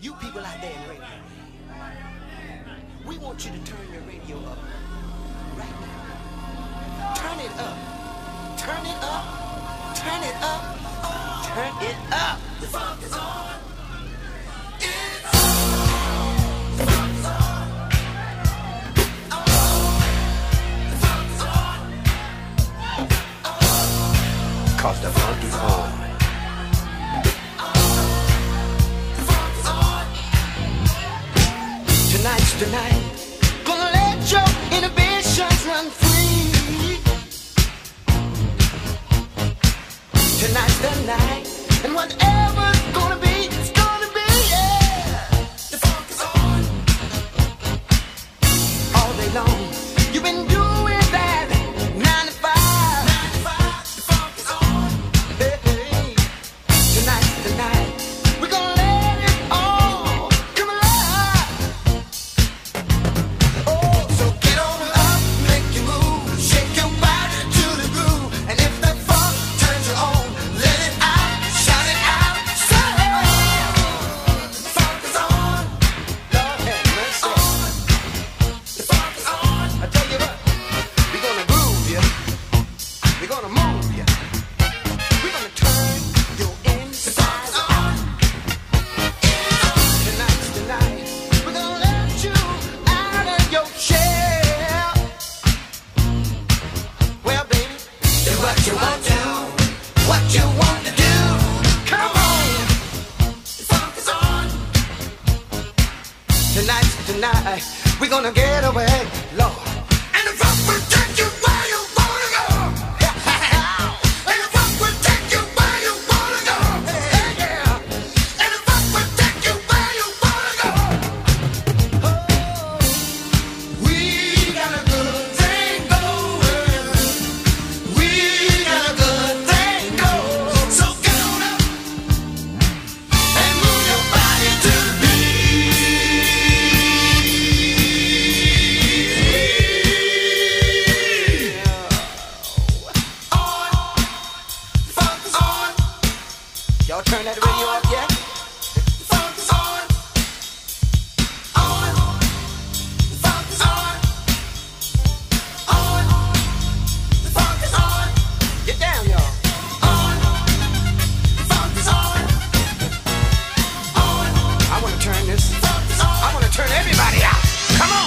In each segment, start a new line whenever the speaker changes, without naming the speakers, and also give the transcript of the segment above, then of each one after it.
You people out there in radio, we want you to turn your radio up right now. Turn it up. Turn it up. Turn it up. Turn it up. The funk is on. It's on. The funk is on. The funk is on. 'Cause the funk is on. Tonight's the night. Gonna let your inhibitions run free. Tonight's the night. And whatever's gonna be, it's gonna be, yeah. The funk is on. All day long, you've been doing that 9 to 5. 9 to 5, the funk is on. Hey, hey. Tonight's the night. We're gonna let it all come alive. Oh, so get on up, make you move, shake your body to the groove. And if that funk turns you on, let it out, shout it out, say the funk is on. Lord have mercy. The funk is on. I tell you what, we're gonna groove you. We're gonna move you. We're gonna turn your inside on. Tonight's the night. We're gonna let you out of your shell. Well, baby, do what you want to, what you want to do. Come on, the funk is on. Tonight's the night. We're gonna get away, Lord. And the funk will take you where you wanna go. And the funk will take you where you wanna go. Hey, yeah. And the funk will take you where you wanna go. Oh, we got a good thing going. We got a good thing going. So get on up and move your body to the funk is on. Y'all turn that radio up yet? The funk is on. On. The funk is on. On. The funk is on. Get down, y'all. On. The funk is on. On. I wanna turn this. Funk is on. I wanna turn everybody out. Come on.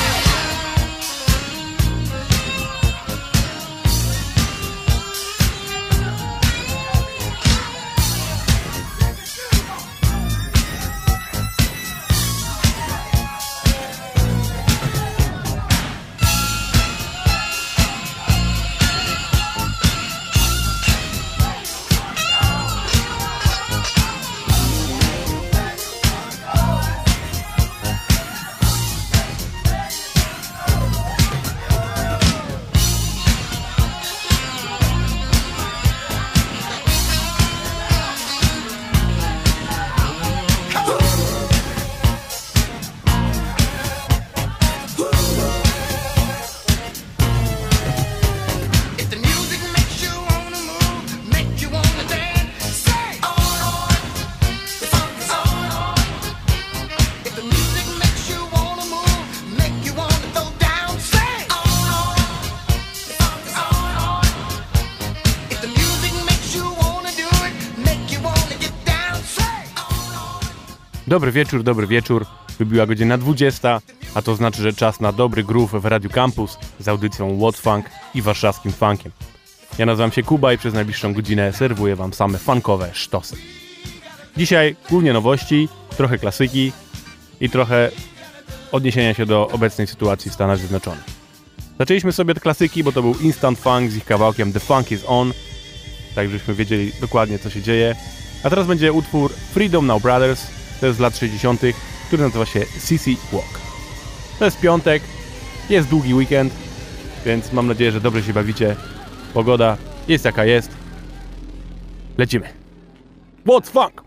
If the music makes you wanna move, make you wanna dance, say on. The funk is on. If the music makes you wanna move, make you wanna throw down, say on. The funk is on. If the music makes you wanna do it, make you wanna get down, say on.
Dobry wieczór. Wybiła godzina 20, a to znaczy, że czas na dobry groove w Radiu Campus z audycją What's Funk i warszawskim funkiem. Ja nazywam się Kuba i przez najbliższą godzinę serwuję wam same funkowe sztosy. Dzisiaj głównie nowości, trochę klasyki i trochę odniesienia się do obecnej sytuacji w Stanach Zjednoczonych. Zaczęliśmy sobie od klasyki, bo to był Instant Funk z ich kawałkiem The Funk is On, tak żebyśmy wiedzieli dokładnie, co się dzieje. A teraz będzie utwór Freedom Now Brothers, to jest z lat 60., który nazywa się CC Walk. To jest piątek, jest długi weekend, więc mam nadzieję, że dobrze się bawicie. Pogoda jest jaka jest. Lecimy. What's Funk?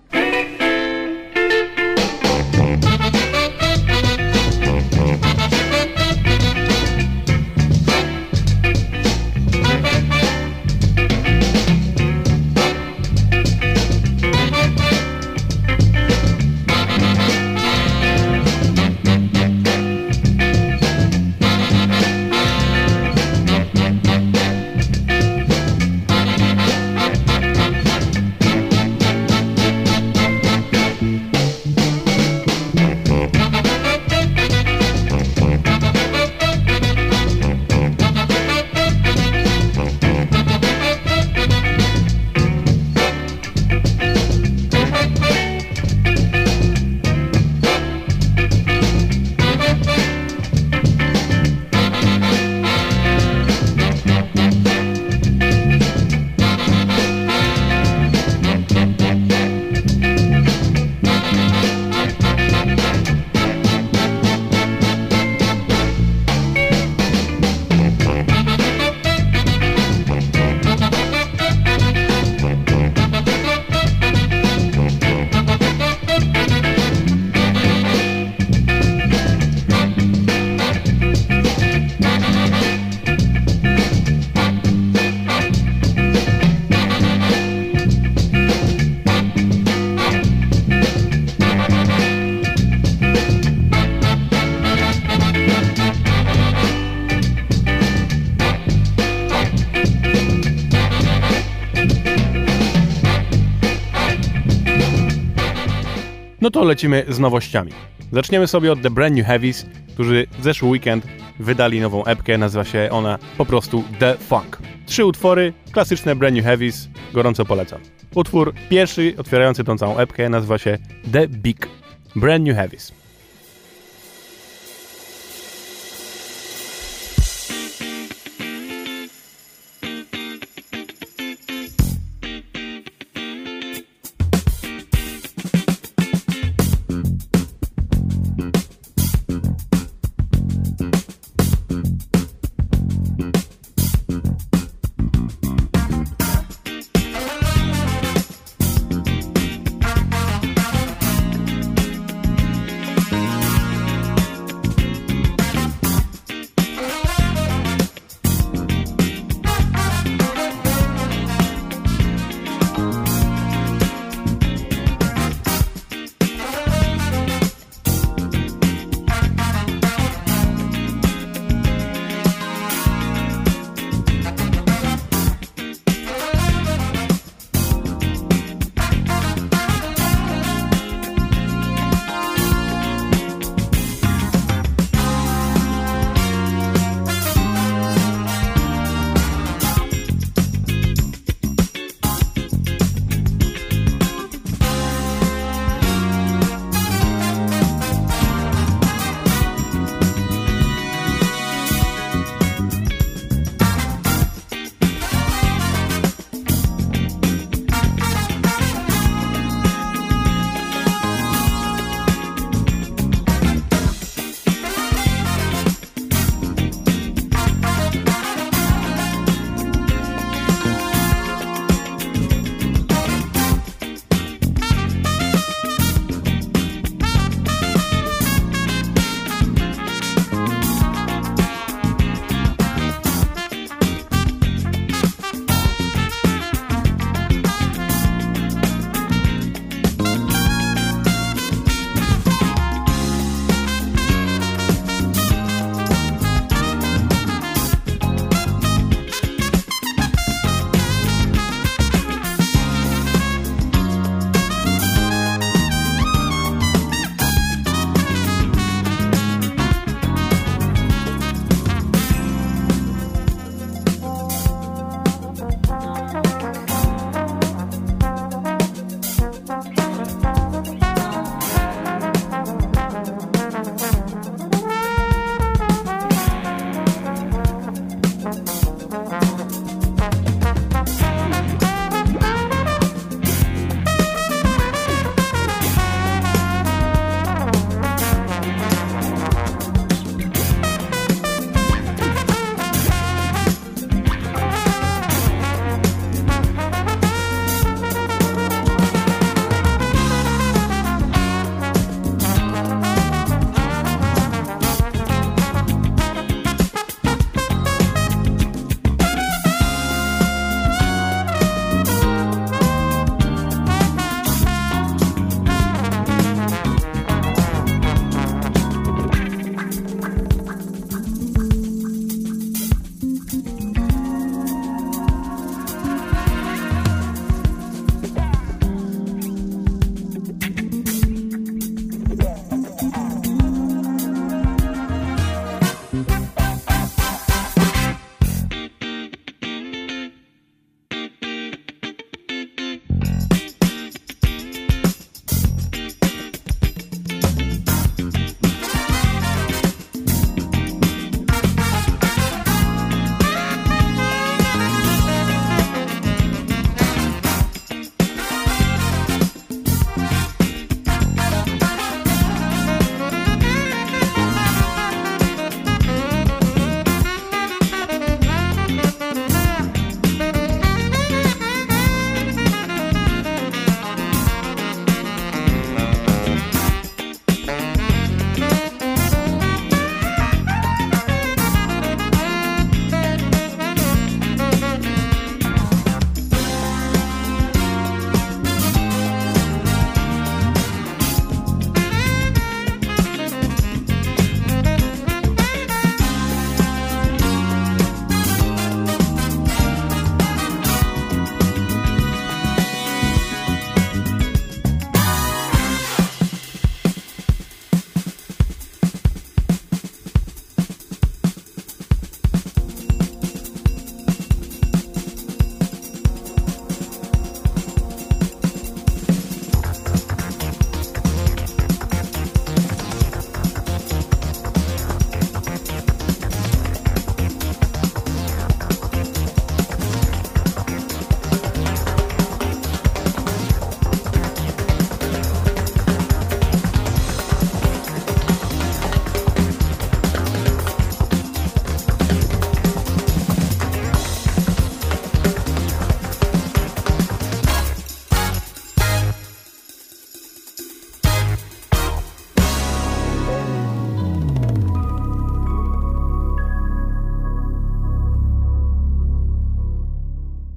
No to lecimy z nowościami. Zaczniemy sobie od The Brand New Heavies, którzy w zeszły weekend wydali nową epkę, nazywa się ona po prostu The Funk. 3 utwory, klasyczne Brand New Heavies, gorąco polecam. Utwór pierwszy, otwierający tą całą epkę, nazywa się The Big. Brand New Heavies.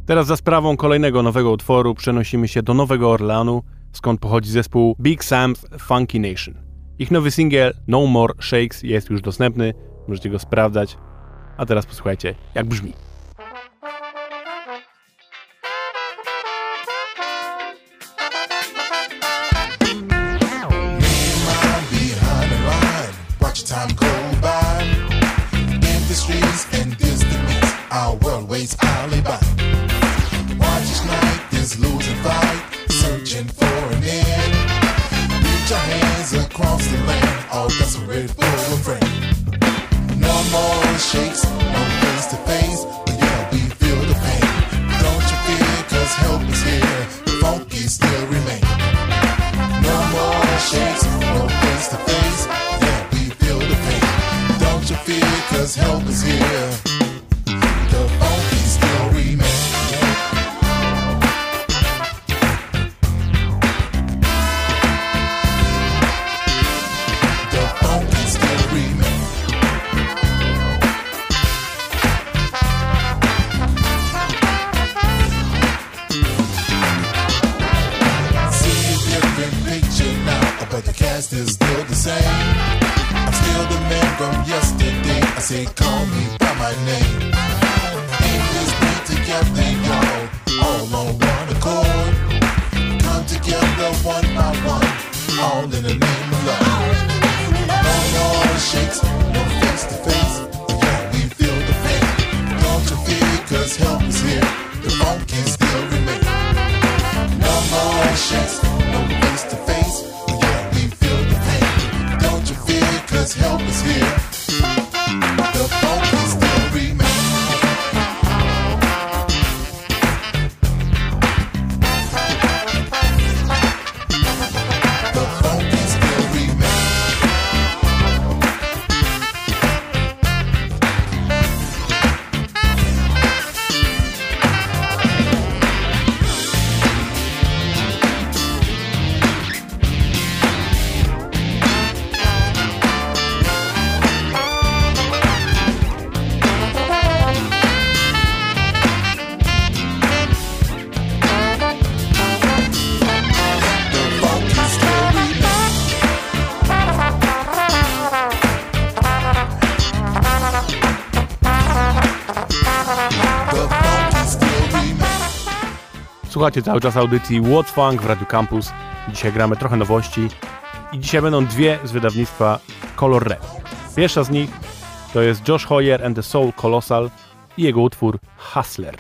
Teraz za sprawą kolejnego nowego utworu przenosimy się do Nowego Orleanu, skąd pochodzi zespół Big Sam's Funky Nation. Ich nowy singiel No More Shakes jest już dostępny, możecie go sprawdzać. A teraz posłuchajcie, jak brzmi.
Time go by in the streets and distance. Our world waits idly by. Watch each night is losing fight, searching for an end. Reach your hands across the land, all desperate for a friend. No more shakes, no face to face, but yeah, we feel the pain. Don't you fear, 'cause help is here, the funky still remain. No more shakes, no face to face, yeah, we feel the pain. Don't you fear, 'cause help is here, the funky still remain. The funky still remain. See a different picture now, but the cast is still the same. I'm still the man from yesterday. I say, call me by my name. In this beat together, y'all, all on one accord. Come together one by one, all in the name of love. No more shakes, no face to face. Yeah, we feel the pain. Don't you fear, 'cause help is here. The funky still remain. No more shakes, no face to face. Yeah, we feel the pain. Don't you fear, 'cause help is here. The funky still remain. The funky still remain.
Słuchacie cały czas audycji What Funk w Radio Campus. Dzisiaj gramy trochę nowości i dzisiaj będą dwie z wydawnictwa Color Red. Pierwsza z nich to jest Josh Hoyer and the Soul Colossal i jego utwór Hustler.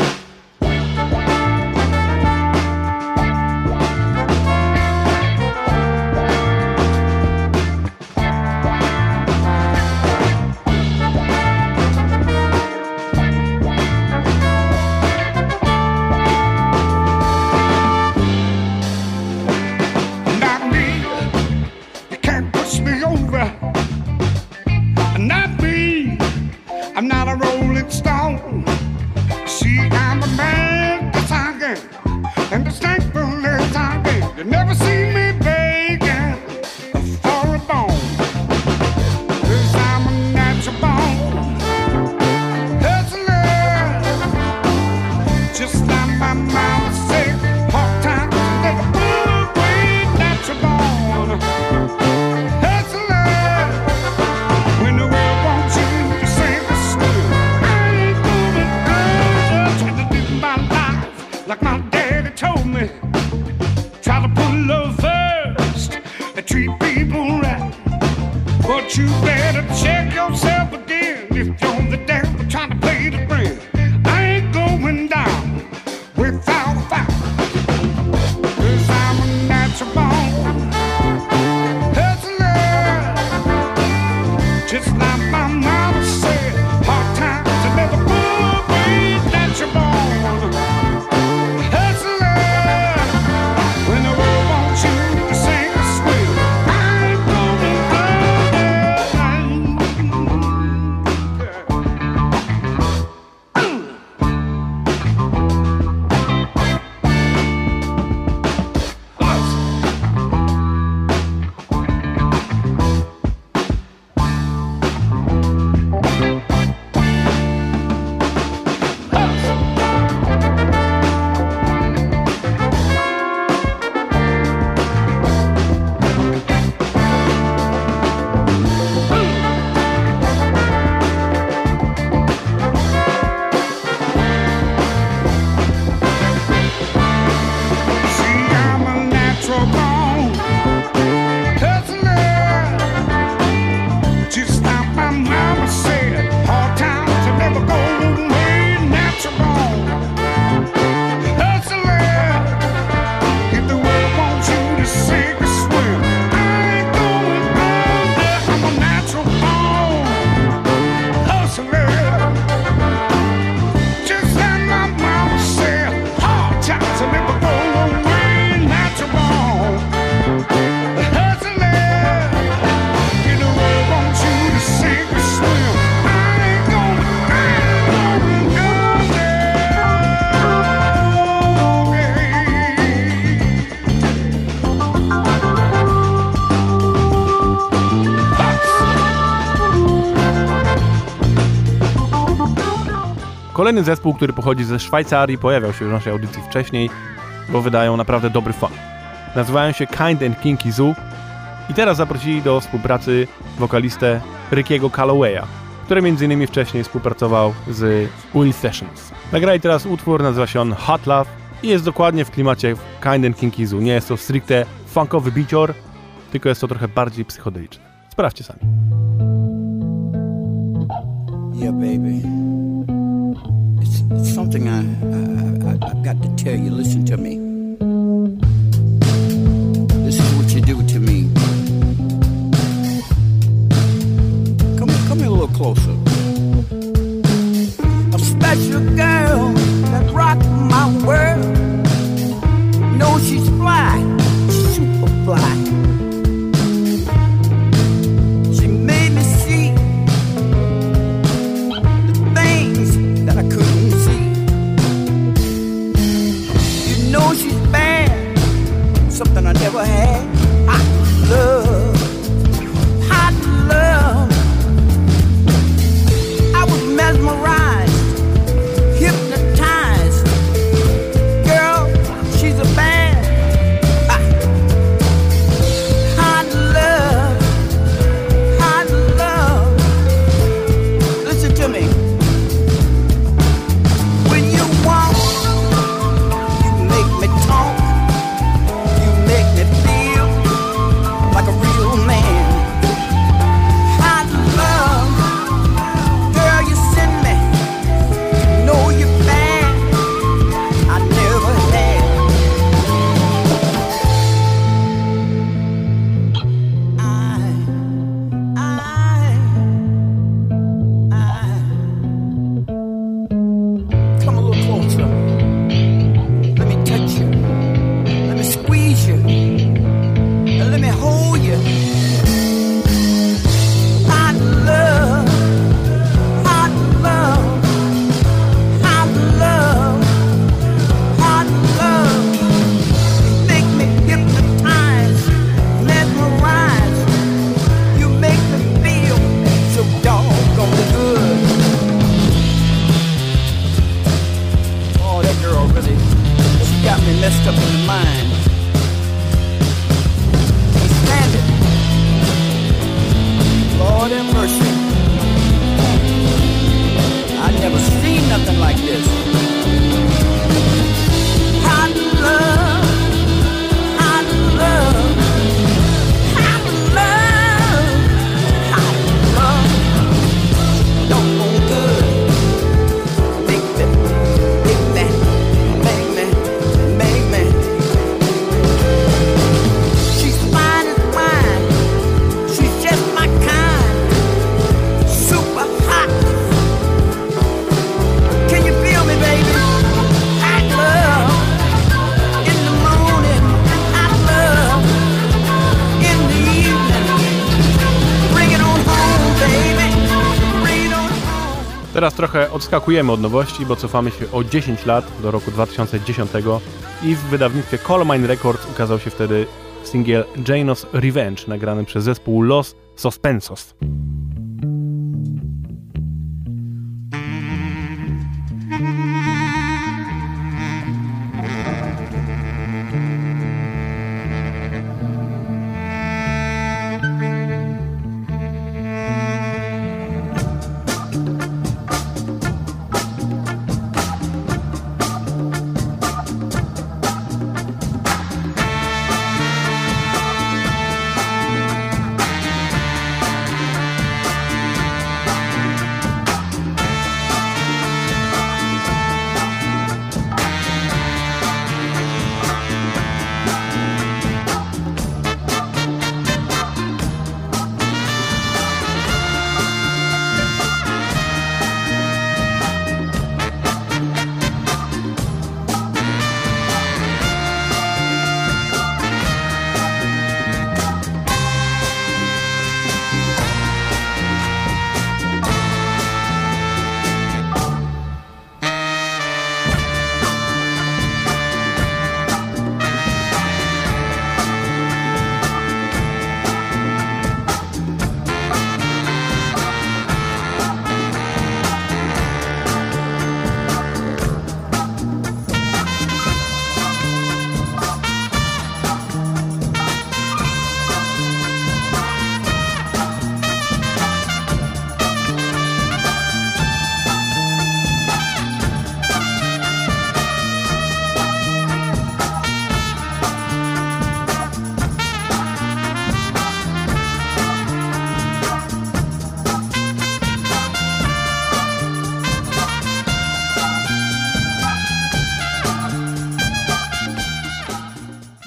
Not me, you can't push me over. Not me, I'm not a rolling stone. See, I'm a man that's hungry, and as thankful as I am. You never see me begging for a bone, 'cause I'm a natural born hustler. Just like my mama said, hard times never good, we natural born hustler. When the world wants you to sing a story, I ain't gonna go. Trying to live my life like my daddy told me. Try to put love first and treat people right. But you better check yourself again if you're the devil trying to play the friend. I ain't going down without a fight, 'cause I'm a natural born hustler. Just like my mama said, hard times are never good, we natural born hustler. When the world wants you to sing a squeal, I ain't gonna go there.
Kolejny zespół, który pochodzi ze Szwajcarii, pojawiał się w naszej audycji wcześniej, bo wydają naprawdę dobry funk. Nazywają się Kind and Kinky Zoo i teraz zaprosili do współpracy wokalistę Rickiego Callowaya, który m.in. wcześniej współpracował z Will Sessions. Nagrali teraz utwór, nazywa się on Hot Love i jest dokładnie w klimacie Kind and Kinky Zoo. Nie jest to stricte funkowy bicior, tylko jest to trochę bardziej psychodeliczne. Sprawdźcie sami.
Yeah, baby. It's something I've got to tell you. Listen to me. This is what you do to me. Come here a little closer. A special girl that rocked my world. No, she's fly, super fly. She made me see the things that I couldn't see. You know she's bad, something I never had. Hot love, hot love. I was mesmerized, hypnotized. Girl, she's a bad. Hot love, hot love. Listen to me. When you walk, you make me talk. You make me feel like a real man. Hot love, girl, you send me. You know you're bad. I never had. Come a little closer. Let me touch you. Let me squeeze you. And let me hold you. Hot love. Hot love. Hot love. Hot love. You make me hypnotize, mesmerize. You make me feel so doggone good. Oh, that girl really, she got me messed up in the mind. Can't stand it. Lord have mercy. I never seen nothing like this. Hot love, hot love, hot love, hot love. Don't go good. Make me, make me, make me, make me. She's fine as wine. She's just my kind. Super hot. Can you feel me, baby? Hot love. In the morning, hot love. In the evening, bring it on home, baby. Bring it on home.
Teraz trochę odskakujemy od nowości, bo cofamy się o 10 lat do roku 2010 i w wydawnictwie Colmine Records ukazał się wtedy singiel Janos Revenge, nagrany przez zespół Los Suspensos.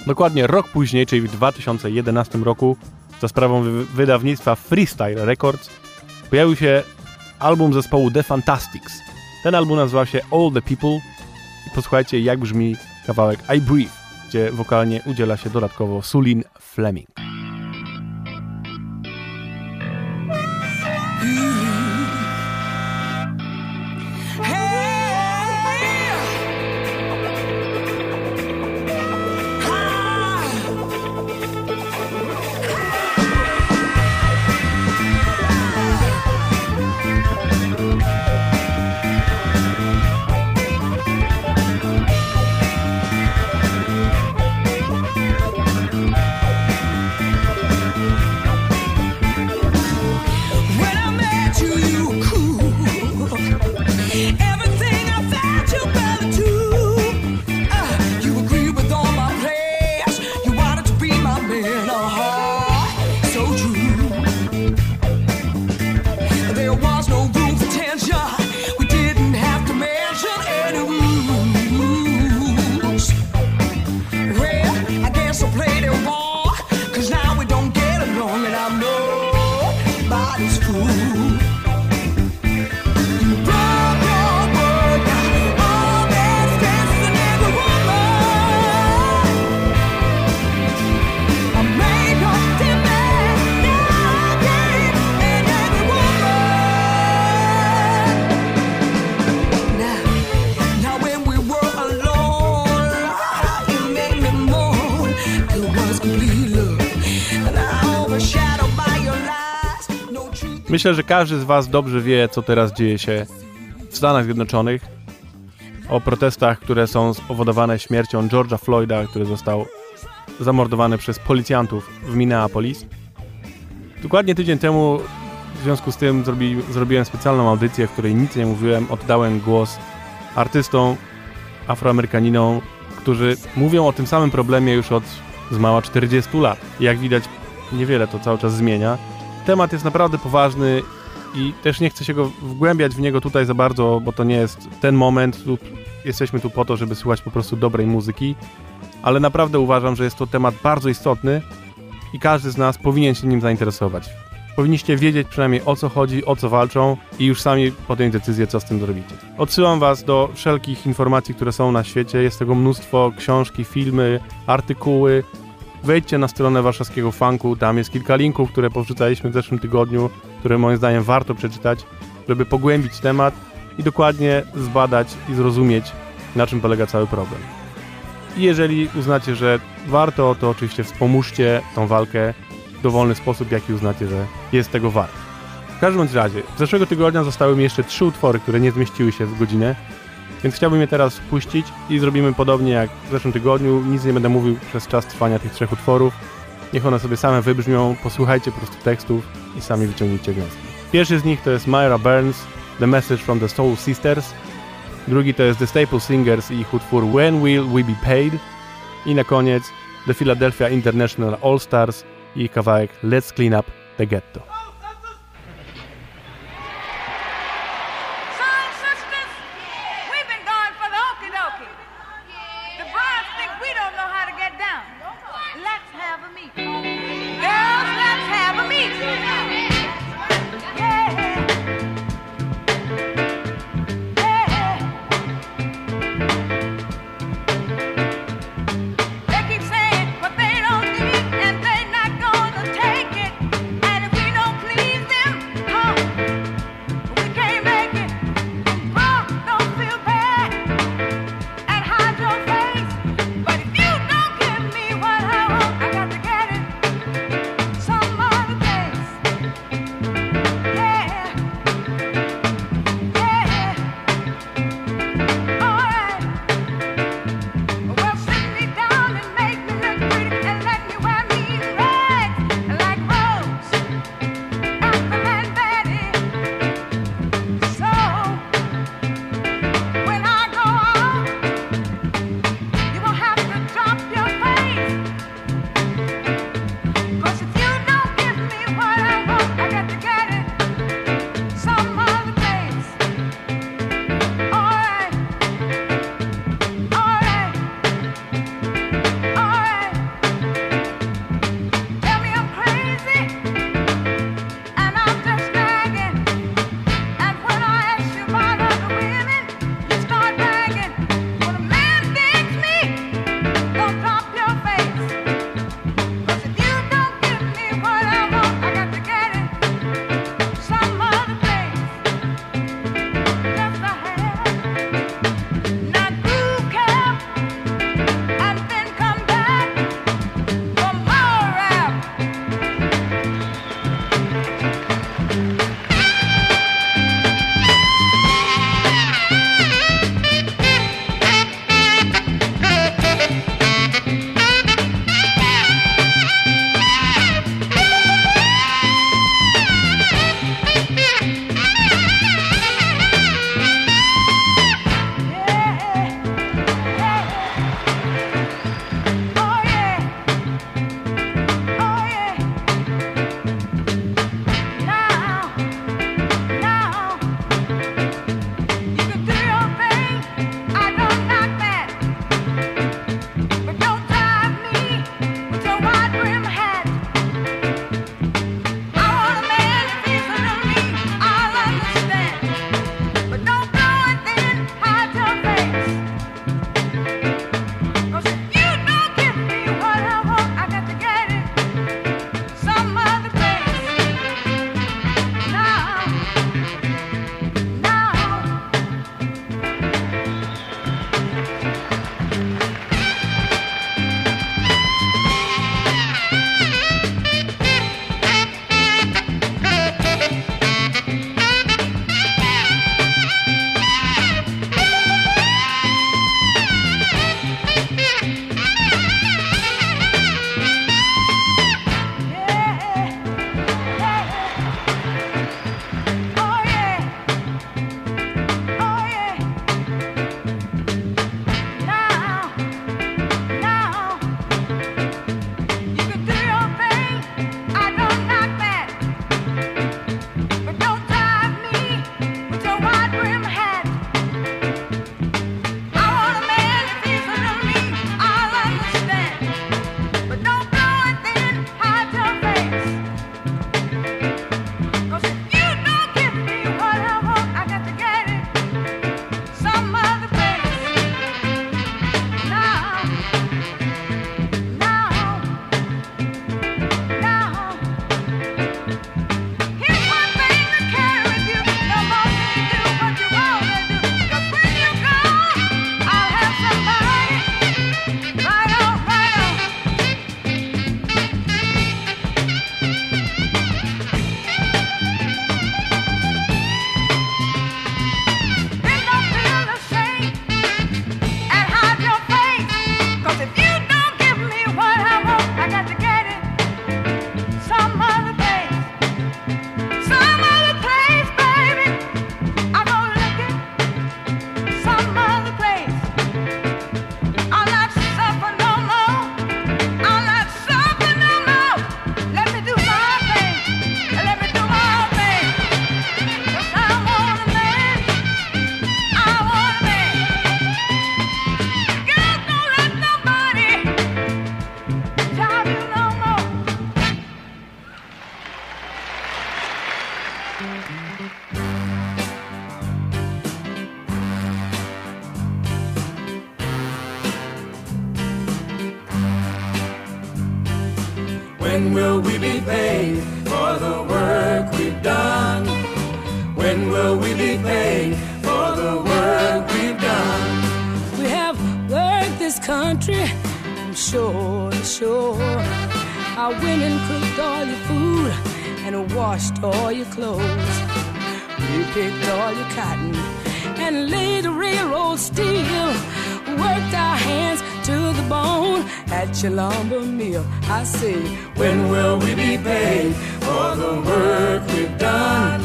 Dokładnie rok później, czyli w 2011 roku, za sprawą wydawnictwa Freestyle Records, pojawił się album zespołu The Fantastics. Ten album nazywał się All the People i posłuchajcie, jak brzmi kawałek I Breathe, gdzie wokalnie udziela się dodatkowo Sulin Fleming. Myślę, że każdy z was dobrze wie, co teraz dzieje się w Stanach Zjednoczonych. O protestach, które są spowodowane śmiercią George'a Floyda, który został zamordowany przez policjantów w Minneapolis. Dokładnie tydzień temu w związku z tym zrobiłem specjalną audycję, w której nic nie mówiłem. Oddałem głos artystom, afroamerykaninom, którzy mówią o tym samym problemie już od zmała 40 lat. I jak widać, niewiele to cały czas zmienia. Temat jest naprawdę poważny i też nie chcę się wgłębiać w niego tutaj za bardzo, bo to nie jest ten moment. Jesteśmy tu po to, żeby słuchać po prostu dobrej muzyki, ale naprawdę uważam, że jest to temat bardzo istotny i każdy z nas powinien się nim zainteresować. Powinniście wiedzieć przynajmniej, o co chodzi, o co walczą i już sami podjąć decyzję, co z tym zrobicie. Odsyłam was do wszelkich informacji, które są na świecie. Jest tego mnóstwo, książki, filmy, artykuły. Wejdźcie na stronę warszawskiego funku, tam jest kilka linków, które powrzucaliśmy w zeszłym tygodniu, które moim zdaniem warto przeczytać, żeby pogłębić temat i dokładnie zbadać i zrozumieć, na czym polega cały problem. I jeżeli uznacie, że warto, to oczywiście wspomóżcie tą walkę w dowolny sposób, jaki uznacie, że jest tego wart. W każdym bądź razie, z zeszłego tygodnia zostały mi jeszcze 3 utwory, które nie zmieściły się w godzinę, więc chciałbym je teraz puścić i zrobimy podobnie jak w zeszłym tygodniu. Nic nie będę mówił przez czas trwania tych 3 utworów. Niech one sobie same wybrzmią, posłuchajcie po prostu tekstów i sami wyciągnijcie wnioski. Pierwszy z nich to jest Myra Burns, The Message from the Soul Sisters. Drugi to jest The Staple Singers i ich utwór When Will We Be Paid. I na koniec The Philadelphia International All Stars i ich kawałek Let's Clean Up the Ghetto.
They keep saying what they don't need, and they're not gonna take it. And if we don't
When will we be paid for the work we've done? When will we be paid for the work we've done? We have worked this country from shore to shore. Our women cooked all your food and washed all your clothes. We picked all your cotton and laid the railroad steel. Worked our hands to the bone at your lumber mill. I say, when will we be paid for the work we've done?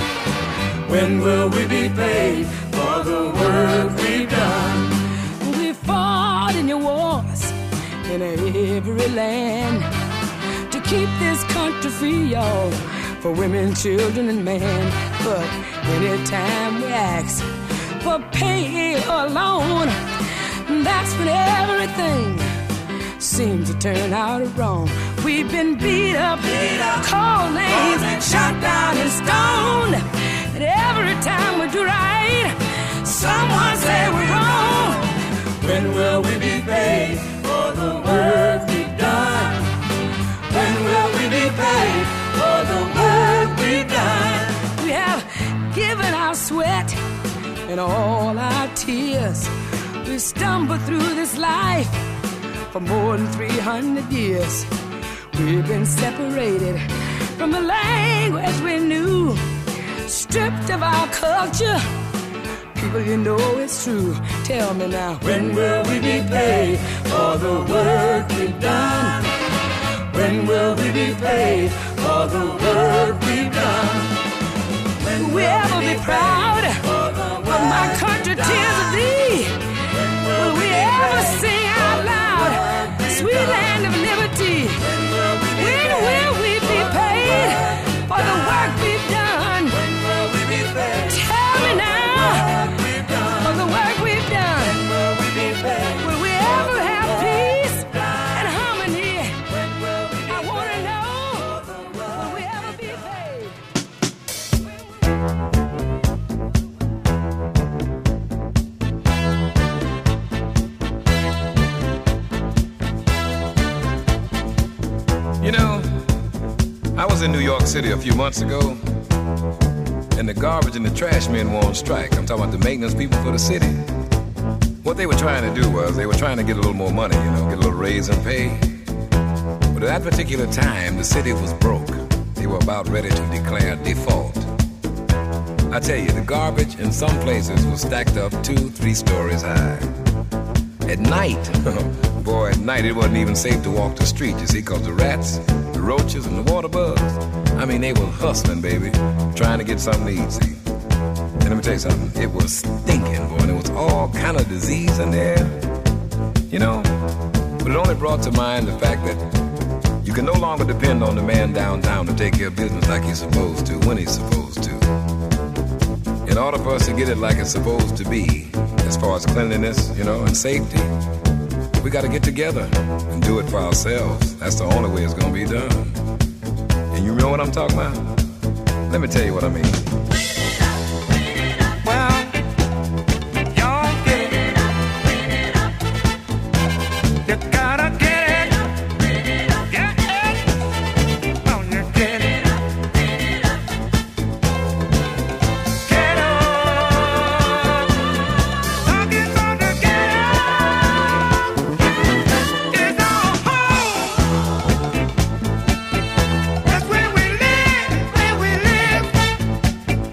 When will we be paid for the work we've done? We fought in your wars in every land to keep this country free, y'all, for women, children, and men. But anytime we ask for pay or loan, that's when everything seems to turn out wrong. We've been beat up, called names, shot down and stoned. And every time we do right, someone say we're wrong. When will we be paid for the work we've done? When will we be paid for the work we've done? We have given our sweat and all our tears. We stumbled through this life for more than 300 years. We've been separated from the language we knew, stripped of our culture. People, you know it's true. Tell me now, when will we be paid for the work we've done? When will we be paid for the work we've done? When will we ever be proud of my country, tears of thee? Will we ever sing out loud, sweet land of liberty? When will we be paid for the work we've done? Tell me now, for the work we've done. Will we ever have peace and harmony? I want to know, will we ever be paid?
You know, I was in New York City a few months ago, and the garbage and the trash men were on strike. I'm talking about the maintenance people for the city. What they were trying to do was they were trying to get a little more money, you know, get a little raise in pay. But at that particular time, the city was broke. They were about ready to declare default. I tell you, the garbage in some places was stacked up 2-3 stories high. At night, boy, at night it wasn't even safe to walk the street, you see, because the rats, the roaches, and the water bugs, I mean, they were hustling, baby, trying to get something to eat, see. And let me tell you something, it was stinking, boy, and there was all kind of disease in there, you know. But it only brought to mind the fact that you can no longer depend on the man downtown to take care of business like he's supposed to, when he's supposed to. In order for us to get it like it's supposed to be, as far as cleanliness, you know, and safety, we got to get together and do it for ourselves. That's the only way it's going to be done. And you know what I'm talking about? Let me tell you what I mean.
Well, y'all get it. You gotta get it. Get it. Oh, you get it. Get up. Talking about the get up. It's our home. That's where we live, where we live.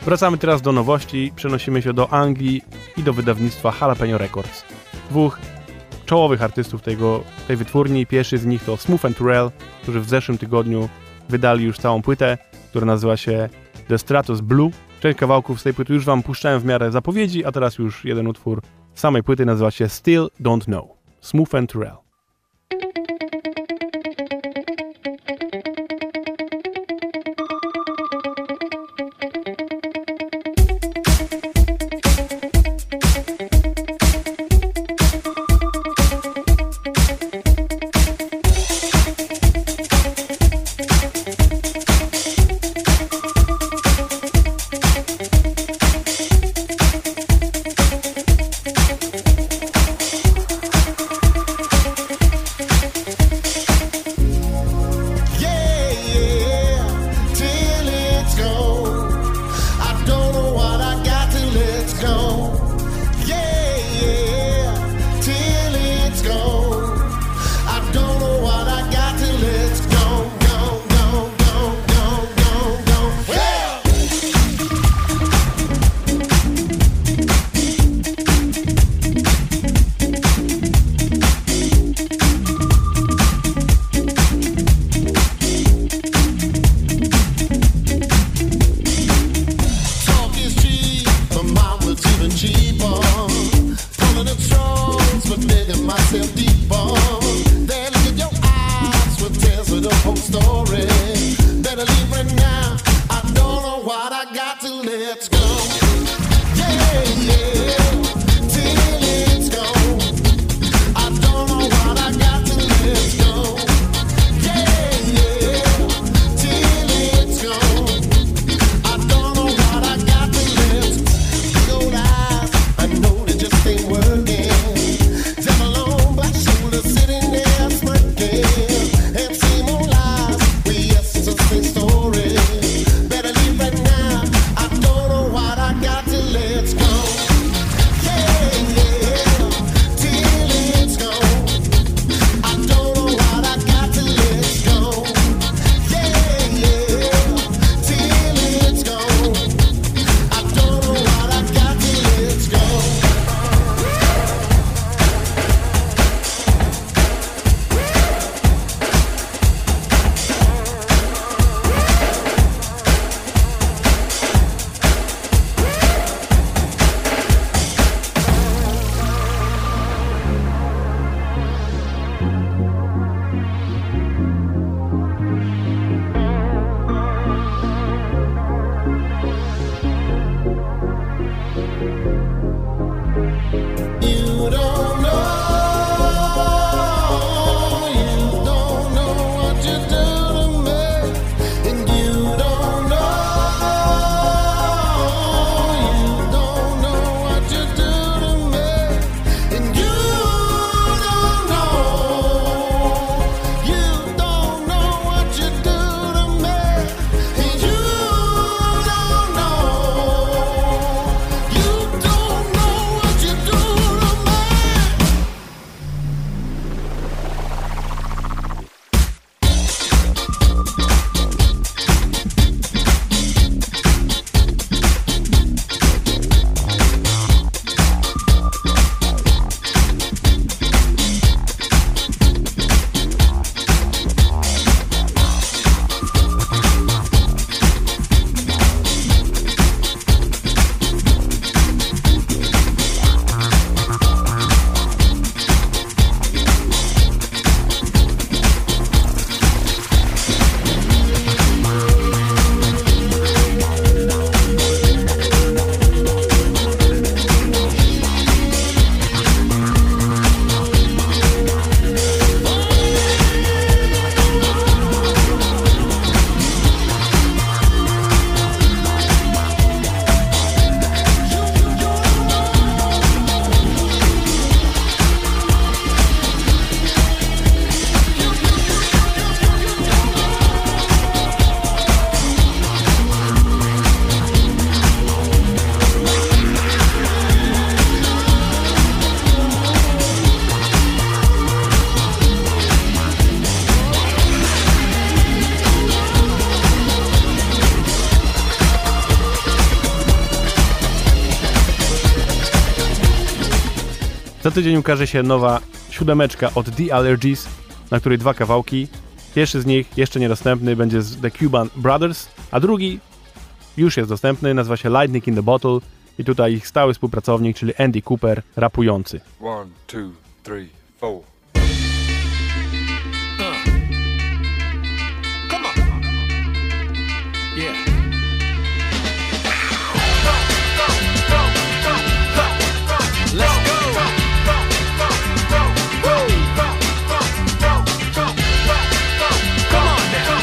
Wracamy teraz do nowości, przenosimy się do Anglii i do wydawnictwa Jalapeno Records. Dwóch czołowych artystów tej wytwórni. Pierwszy z nich to Smooth and Turrell, którzy w zeszłym tygodniu wydali już całą płytę, która nazywa się The Stratos Blue. Część kawałków z tej płyty już wam puszczałem w miarę zapowiedzi, a teraz już jeden utwór z samej płyty nazywa się Still Don't Know. Smooth and Turrell.
Story. Better leave right now. I don't know
Za tydzień ukaże się nowa 7 od The Allergies, na której 2 kawałki. Pierwszy z nich, jeszcze niedostępny, będzie z The Cuban Brothers, a drugi już jest dostępny, nazywa się Lightning in the Bottle i tutaj ich stały współpracownik, czyli Andy Cooper, rapujący.
1, 2, 3, 4.
Come on. Yeah. Let's go. Come on now.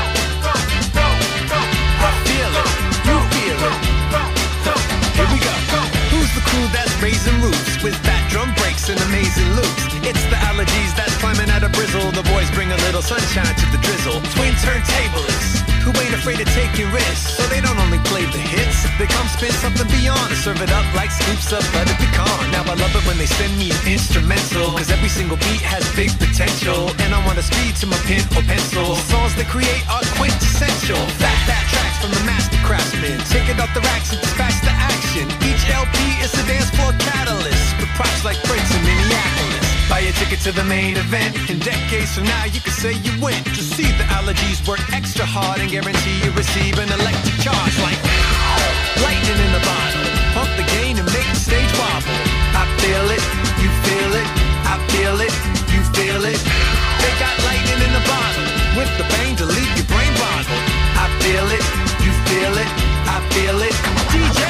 I feel it. You feel it. Here we go. Who's the crew that's raising roofs with fat drum breaks and amazing loops? It's the Allergies that's climbing out of Brizzle. The boys bring a little sunshine to the drizzle. Twin turntablists who ain't afraid of taking risks. So they don't only play the hits, they come spin something beyond and serve it up like scoops of buttered pecan. Now I love it when they send me an instrumental, cause every single beat has big potential. And I wanna speed to my pen or pencil. The songs they create are quintessential. Fat tracks from the master craftsmen. Take it off the racks and dispatch the action. Each LP is a dance floor catalyst, with props like Prince in Minneapolis. Buy a ticket to the main event, and decades from now you can say you went to see the Allergies work extra hard and guarantee you receive an electric charge like lightning in the bottle. Pump the gain and make the stage wobble. I feel it, you feel it, I feel it, you feel it. They got lightning in the bottle, with the bang to leave your brain boggled. I feel it, you feel it, I feel it. DJ!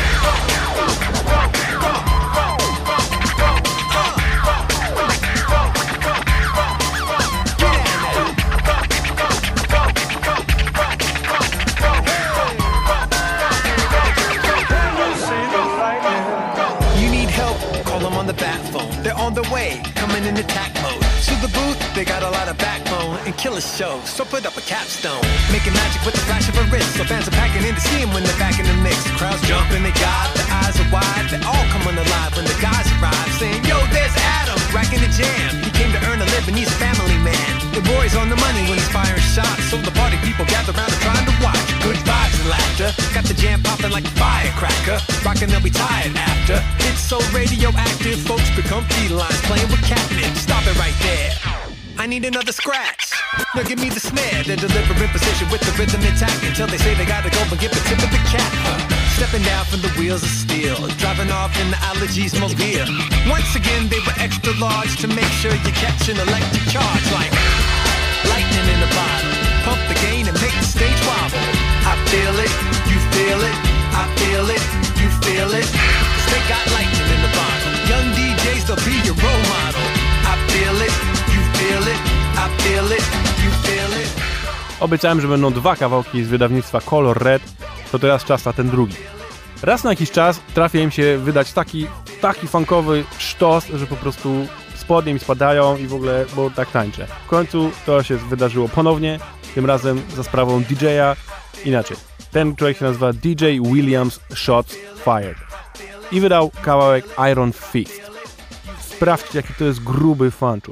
The bat phone, they're on their way, coming in attack mode. To the booth, they got a lot of backbone and killer shows, so put up a capstone. Making magic with the flash of a wrist, so fans are packing in to see him when they're back in the mix. The crowd's jumping, they got the eyes are wide, they all coming alive when the guys arrive, saying, yo, there's Adam, racking the jam. He came to earn a living, he's a family man. The boy's on the money when he's firing shots, so the party people gather around and trying to watch. Good vibes and laughter, got the jam popping like a firecracker. Rockin', they'll be tired after. It's so radioactive, folks become felines playing with catnip. Stop it right there. I need another scratch. Now give me the snare. They're delivering position with the rhythm intact until they say they gotta go and get the tip of the cap. Stepping down from the wheels of steel, driving off in the Allergies mobile. Once again, they were extra large to make sure you catch an electric charge like lightning in a bottle. Pump the gain and make the stage wobble. I feel it, you feel it, I feel it, you feel it. Cause they got lightning in the bottle. Young DJs, they'll be your role model. I feel it, you feel it, I feel it, you feel it.
Obiecałem, że będą 2 kawałki z wydawnictwa Color Red, to teraz czas na ten drugi. Raz na jakiś czas trafia im się wydać taki funkowy sztos, że po prostu spodnie mi spadają i w ogóle, bo tak tańczę. W końcu to się wydarzyło ponownie, tym razem za sprawą DJ-a. Inaczej, ten człowiek się nazywa DJ Williams Shots Fired i wydał kawałek Iron Fist. Sprawdźcie, jaki to jest gruby fanczur.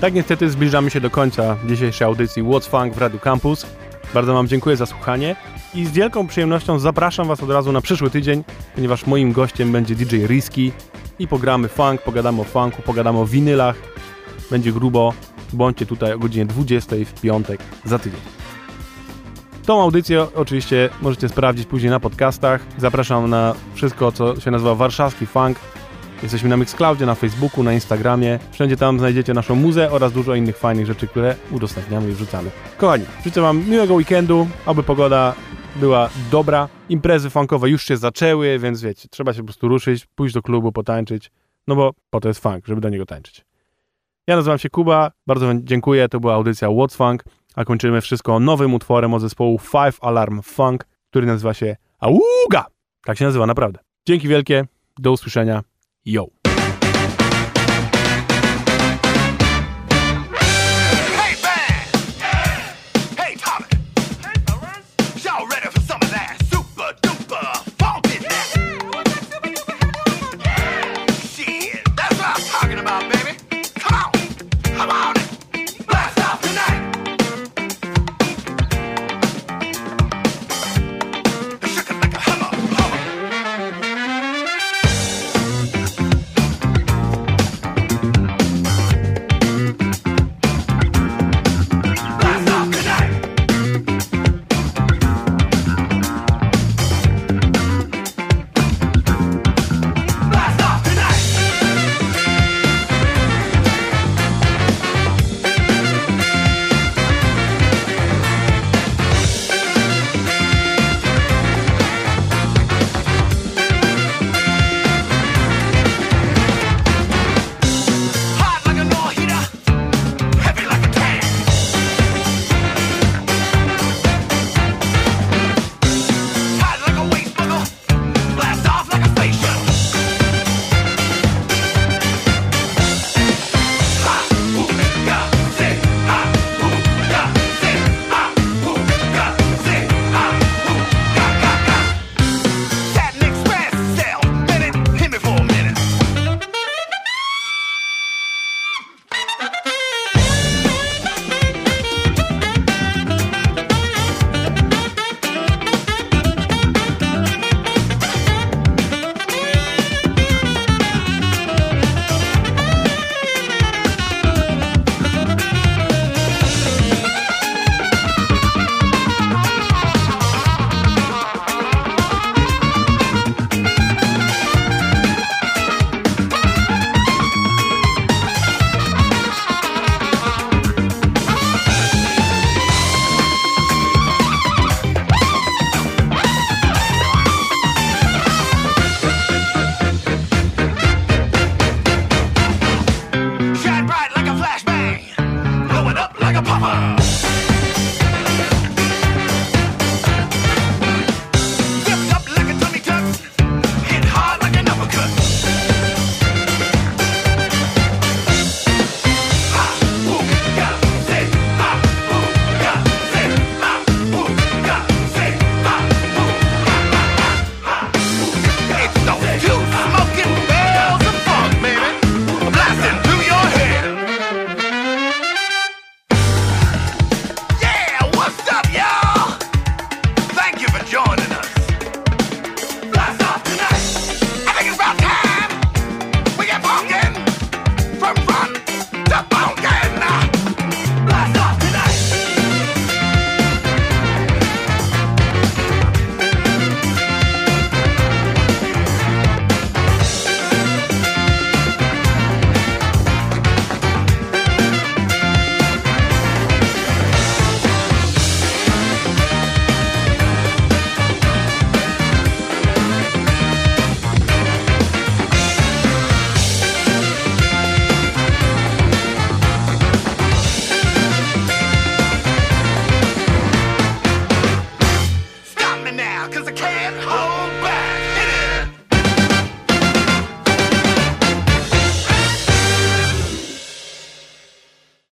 Tak niestety zbliżamy się do końca dzisiejszej audycji What's Funk w Radiu Campus. Bardzo wam dziękuję za słuchanie i z wielką przyjemnością zapraszam was od razu na przyszły tydzień, ponieważ moim gościem będzie DJ Risky i pogramy funk, pogadamy o funku, pogadamy o winylach. Będzie grubo. Bądźcie tutaj o godzinie 20 w piątek za tydzień. Tą audycję oczywiście możecie sprawdzić później na podcastach. Zapraszam na wszystko, co się nazywa Warszawski Funk. Jesteśmy na Mixcloudzie, na Facebooku, na Instagramie. Wszędzie tam znajdziecie naszą muzę oraz dużo innych fajnych rzeczy, które udostępniamy i wrzucamy. Kochani, życzę wam miłego weekendu, aby pogoda była dobra. Imprezy funkowe już się zaczęły, więc wiecie, trzeba się po prostu ruszyć, pójść do klubu, potańczyć, no bo po to jest funk, żeby do niego tańczyć. Ja nazywam się Kuba, bardzo wam dziękuję, to była audycja What's Funk, a kończymy wszystko nowym utworem od zespołu Five Alarm Funk, który nazywa się Auga! Tak się nazywa, naprawdę. Dzięki wielkie, do usłyszenia, yo!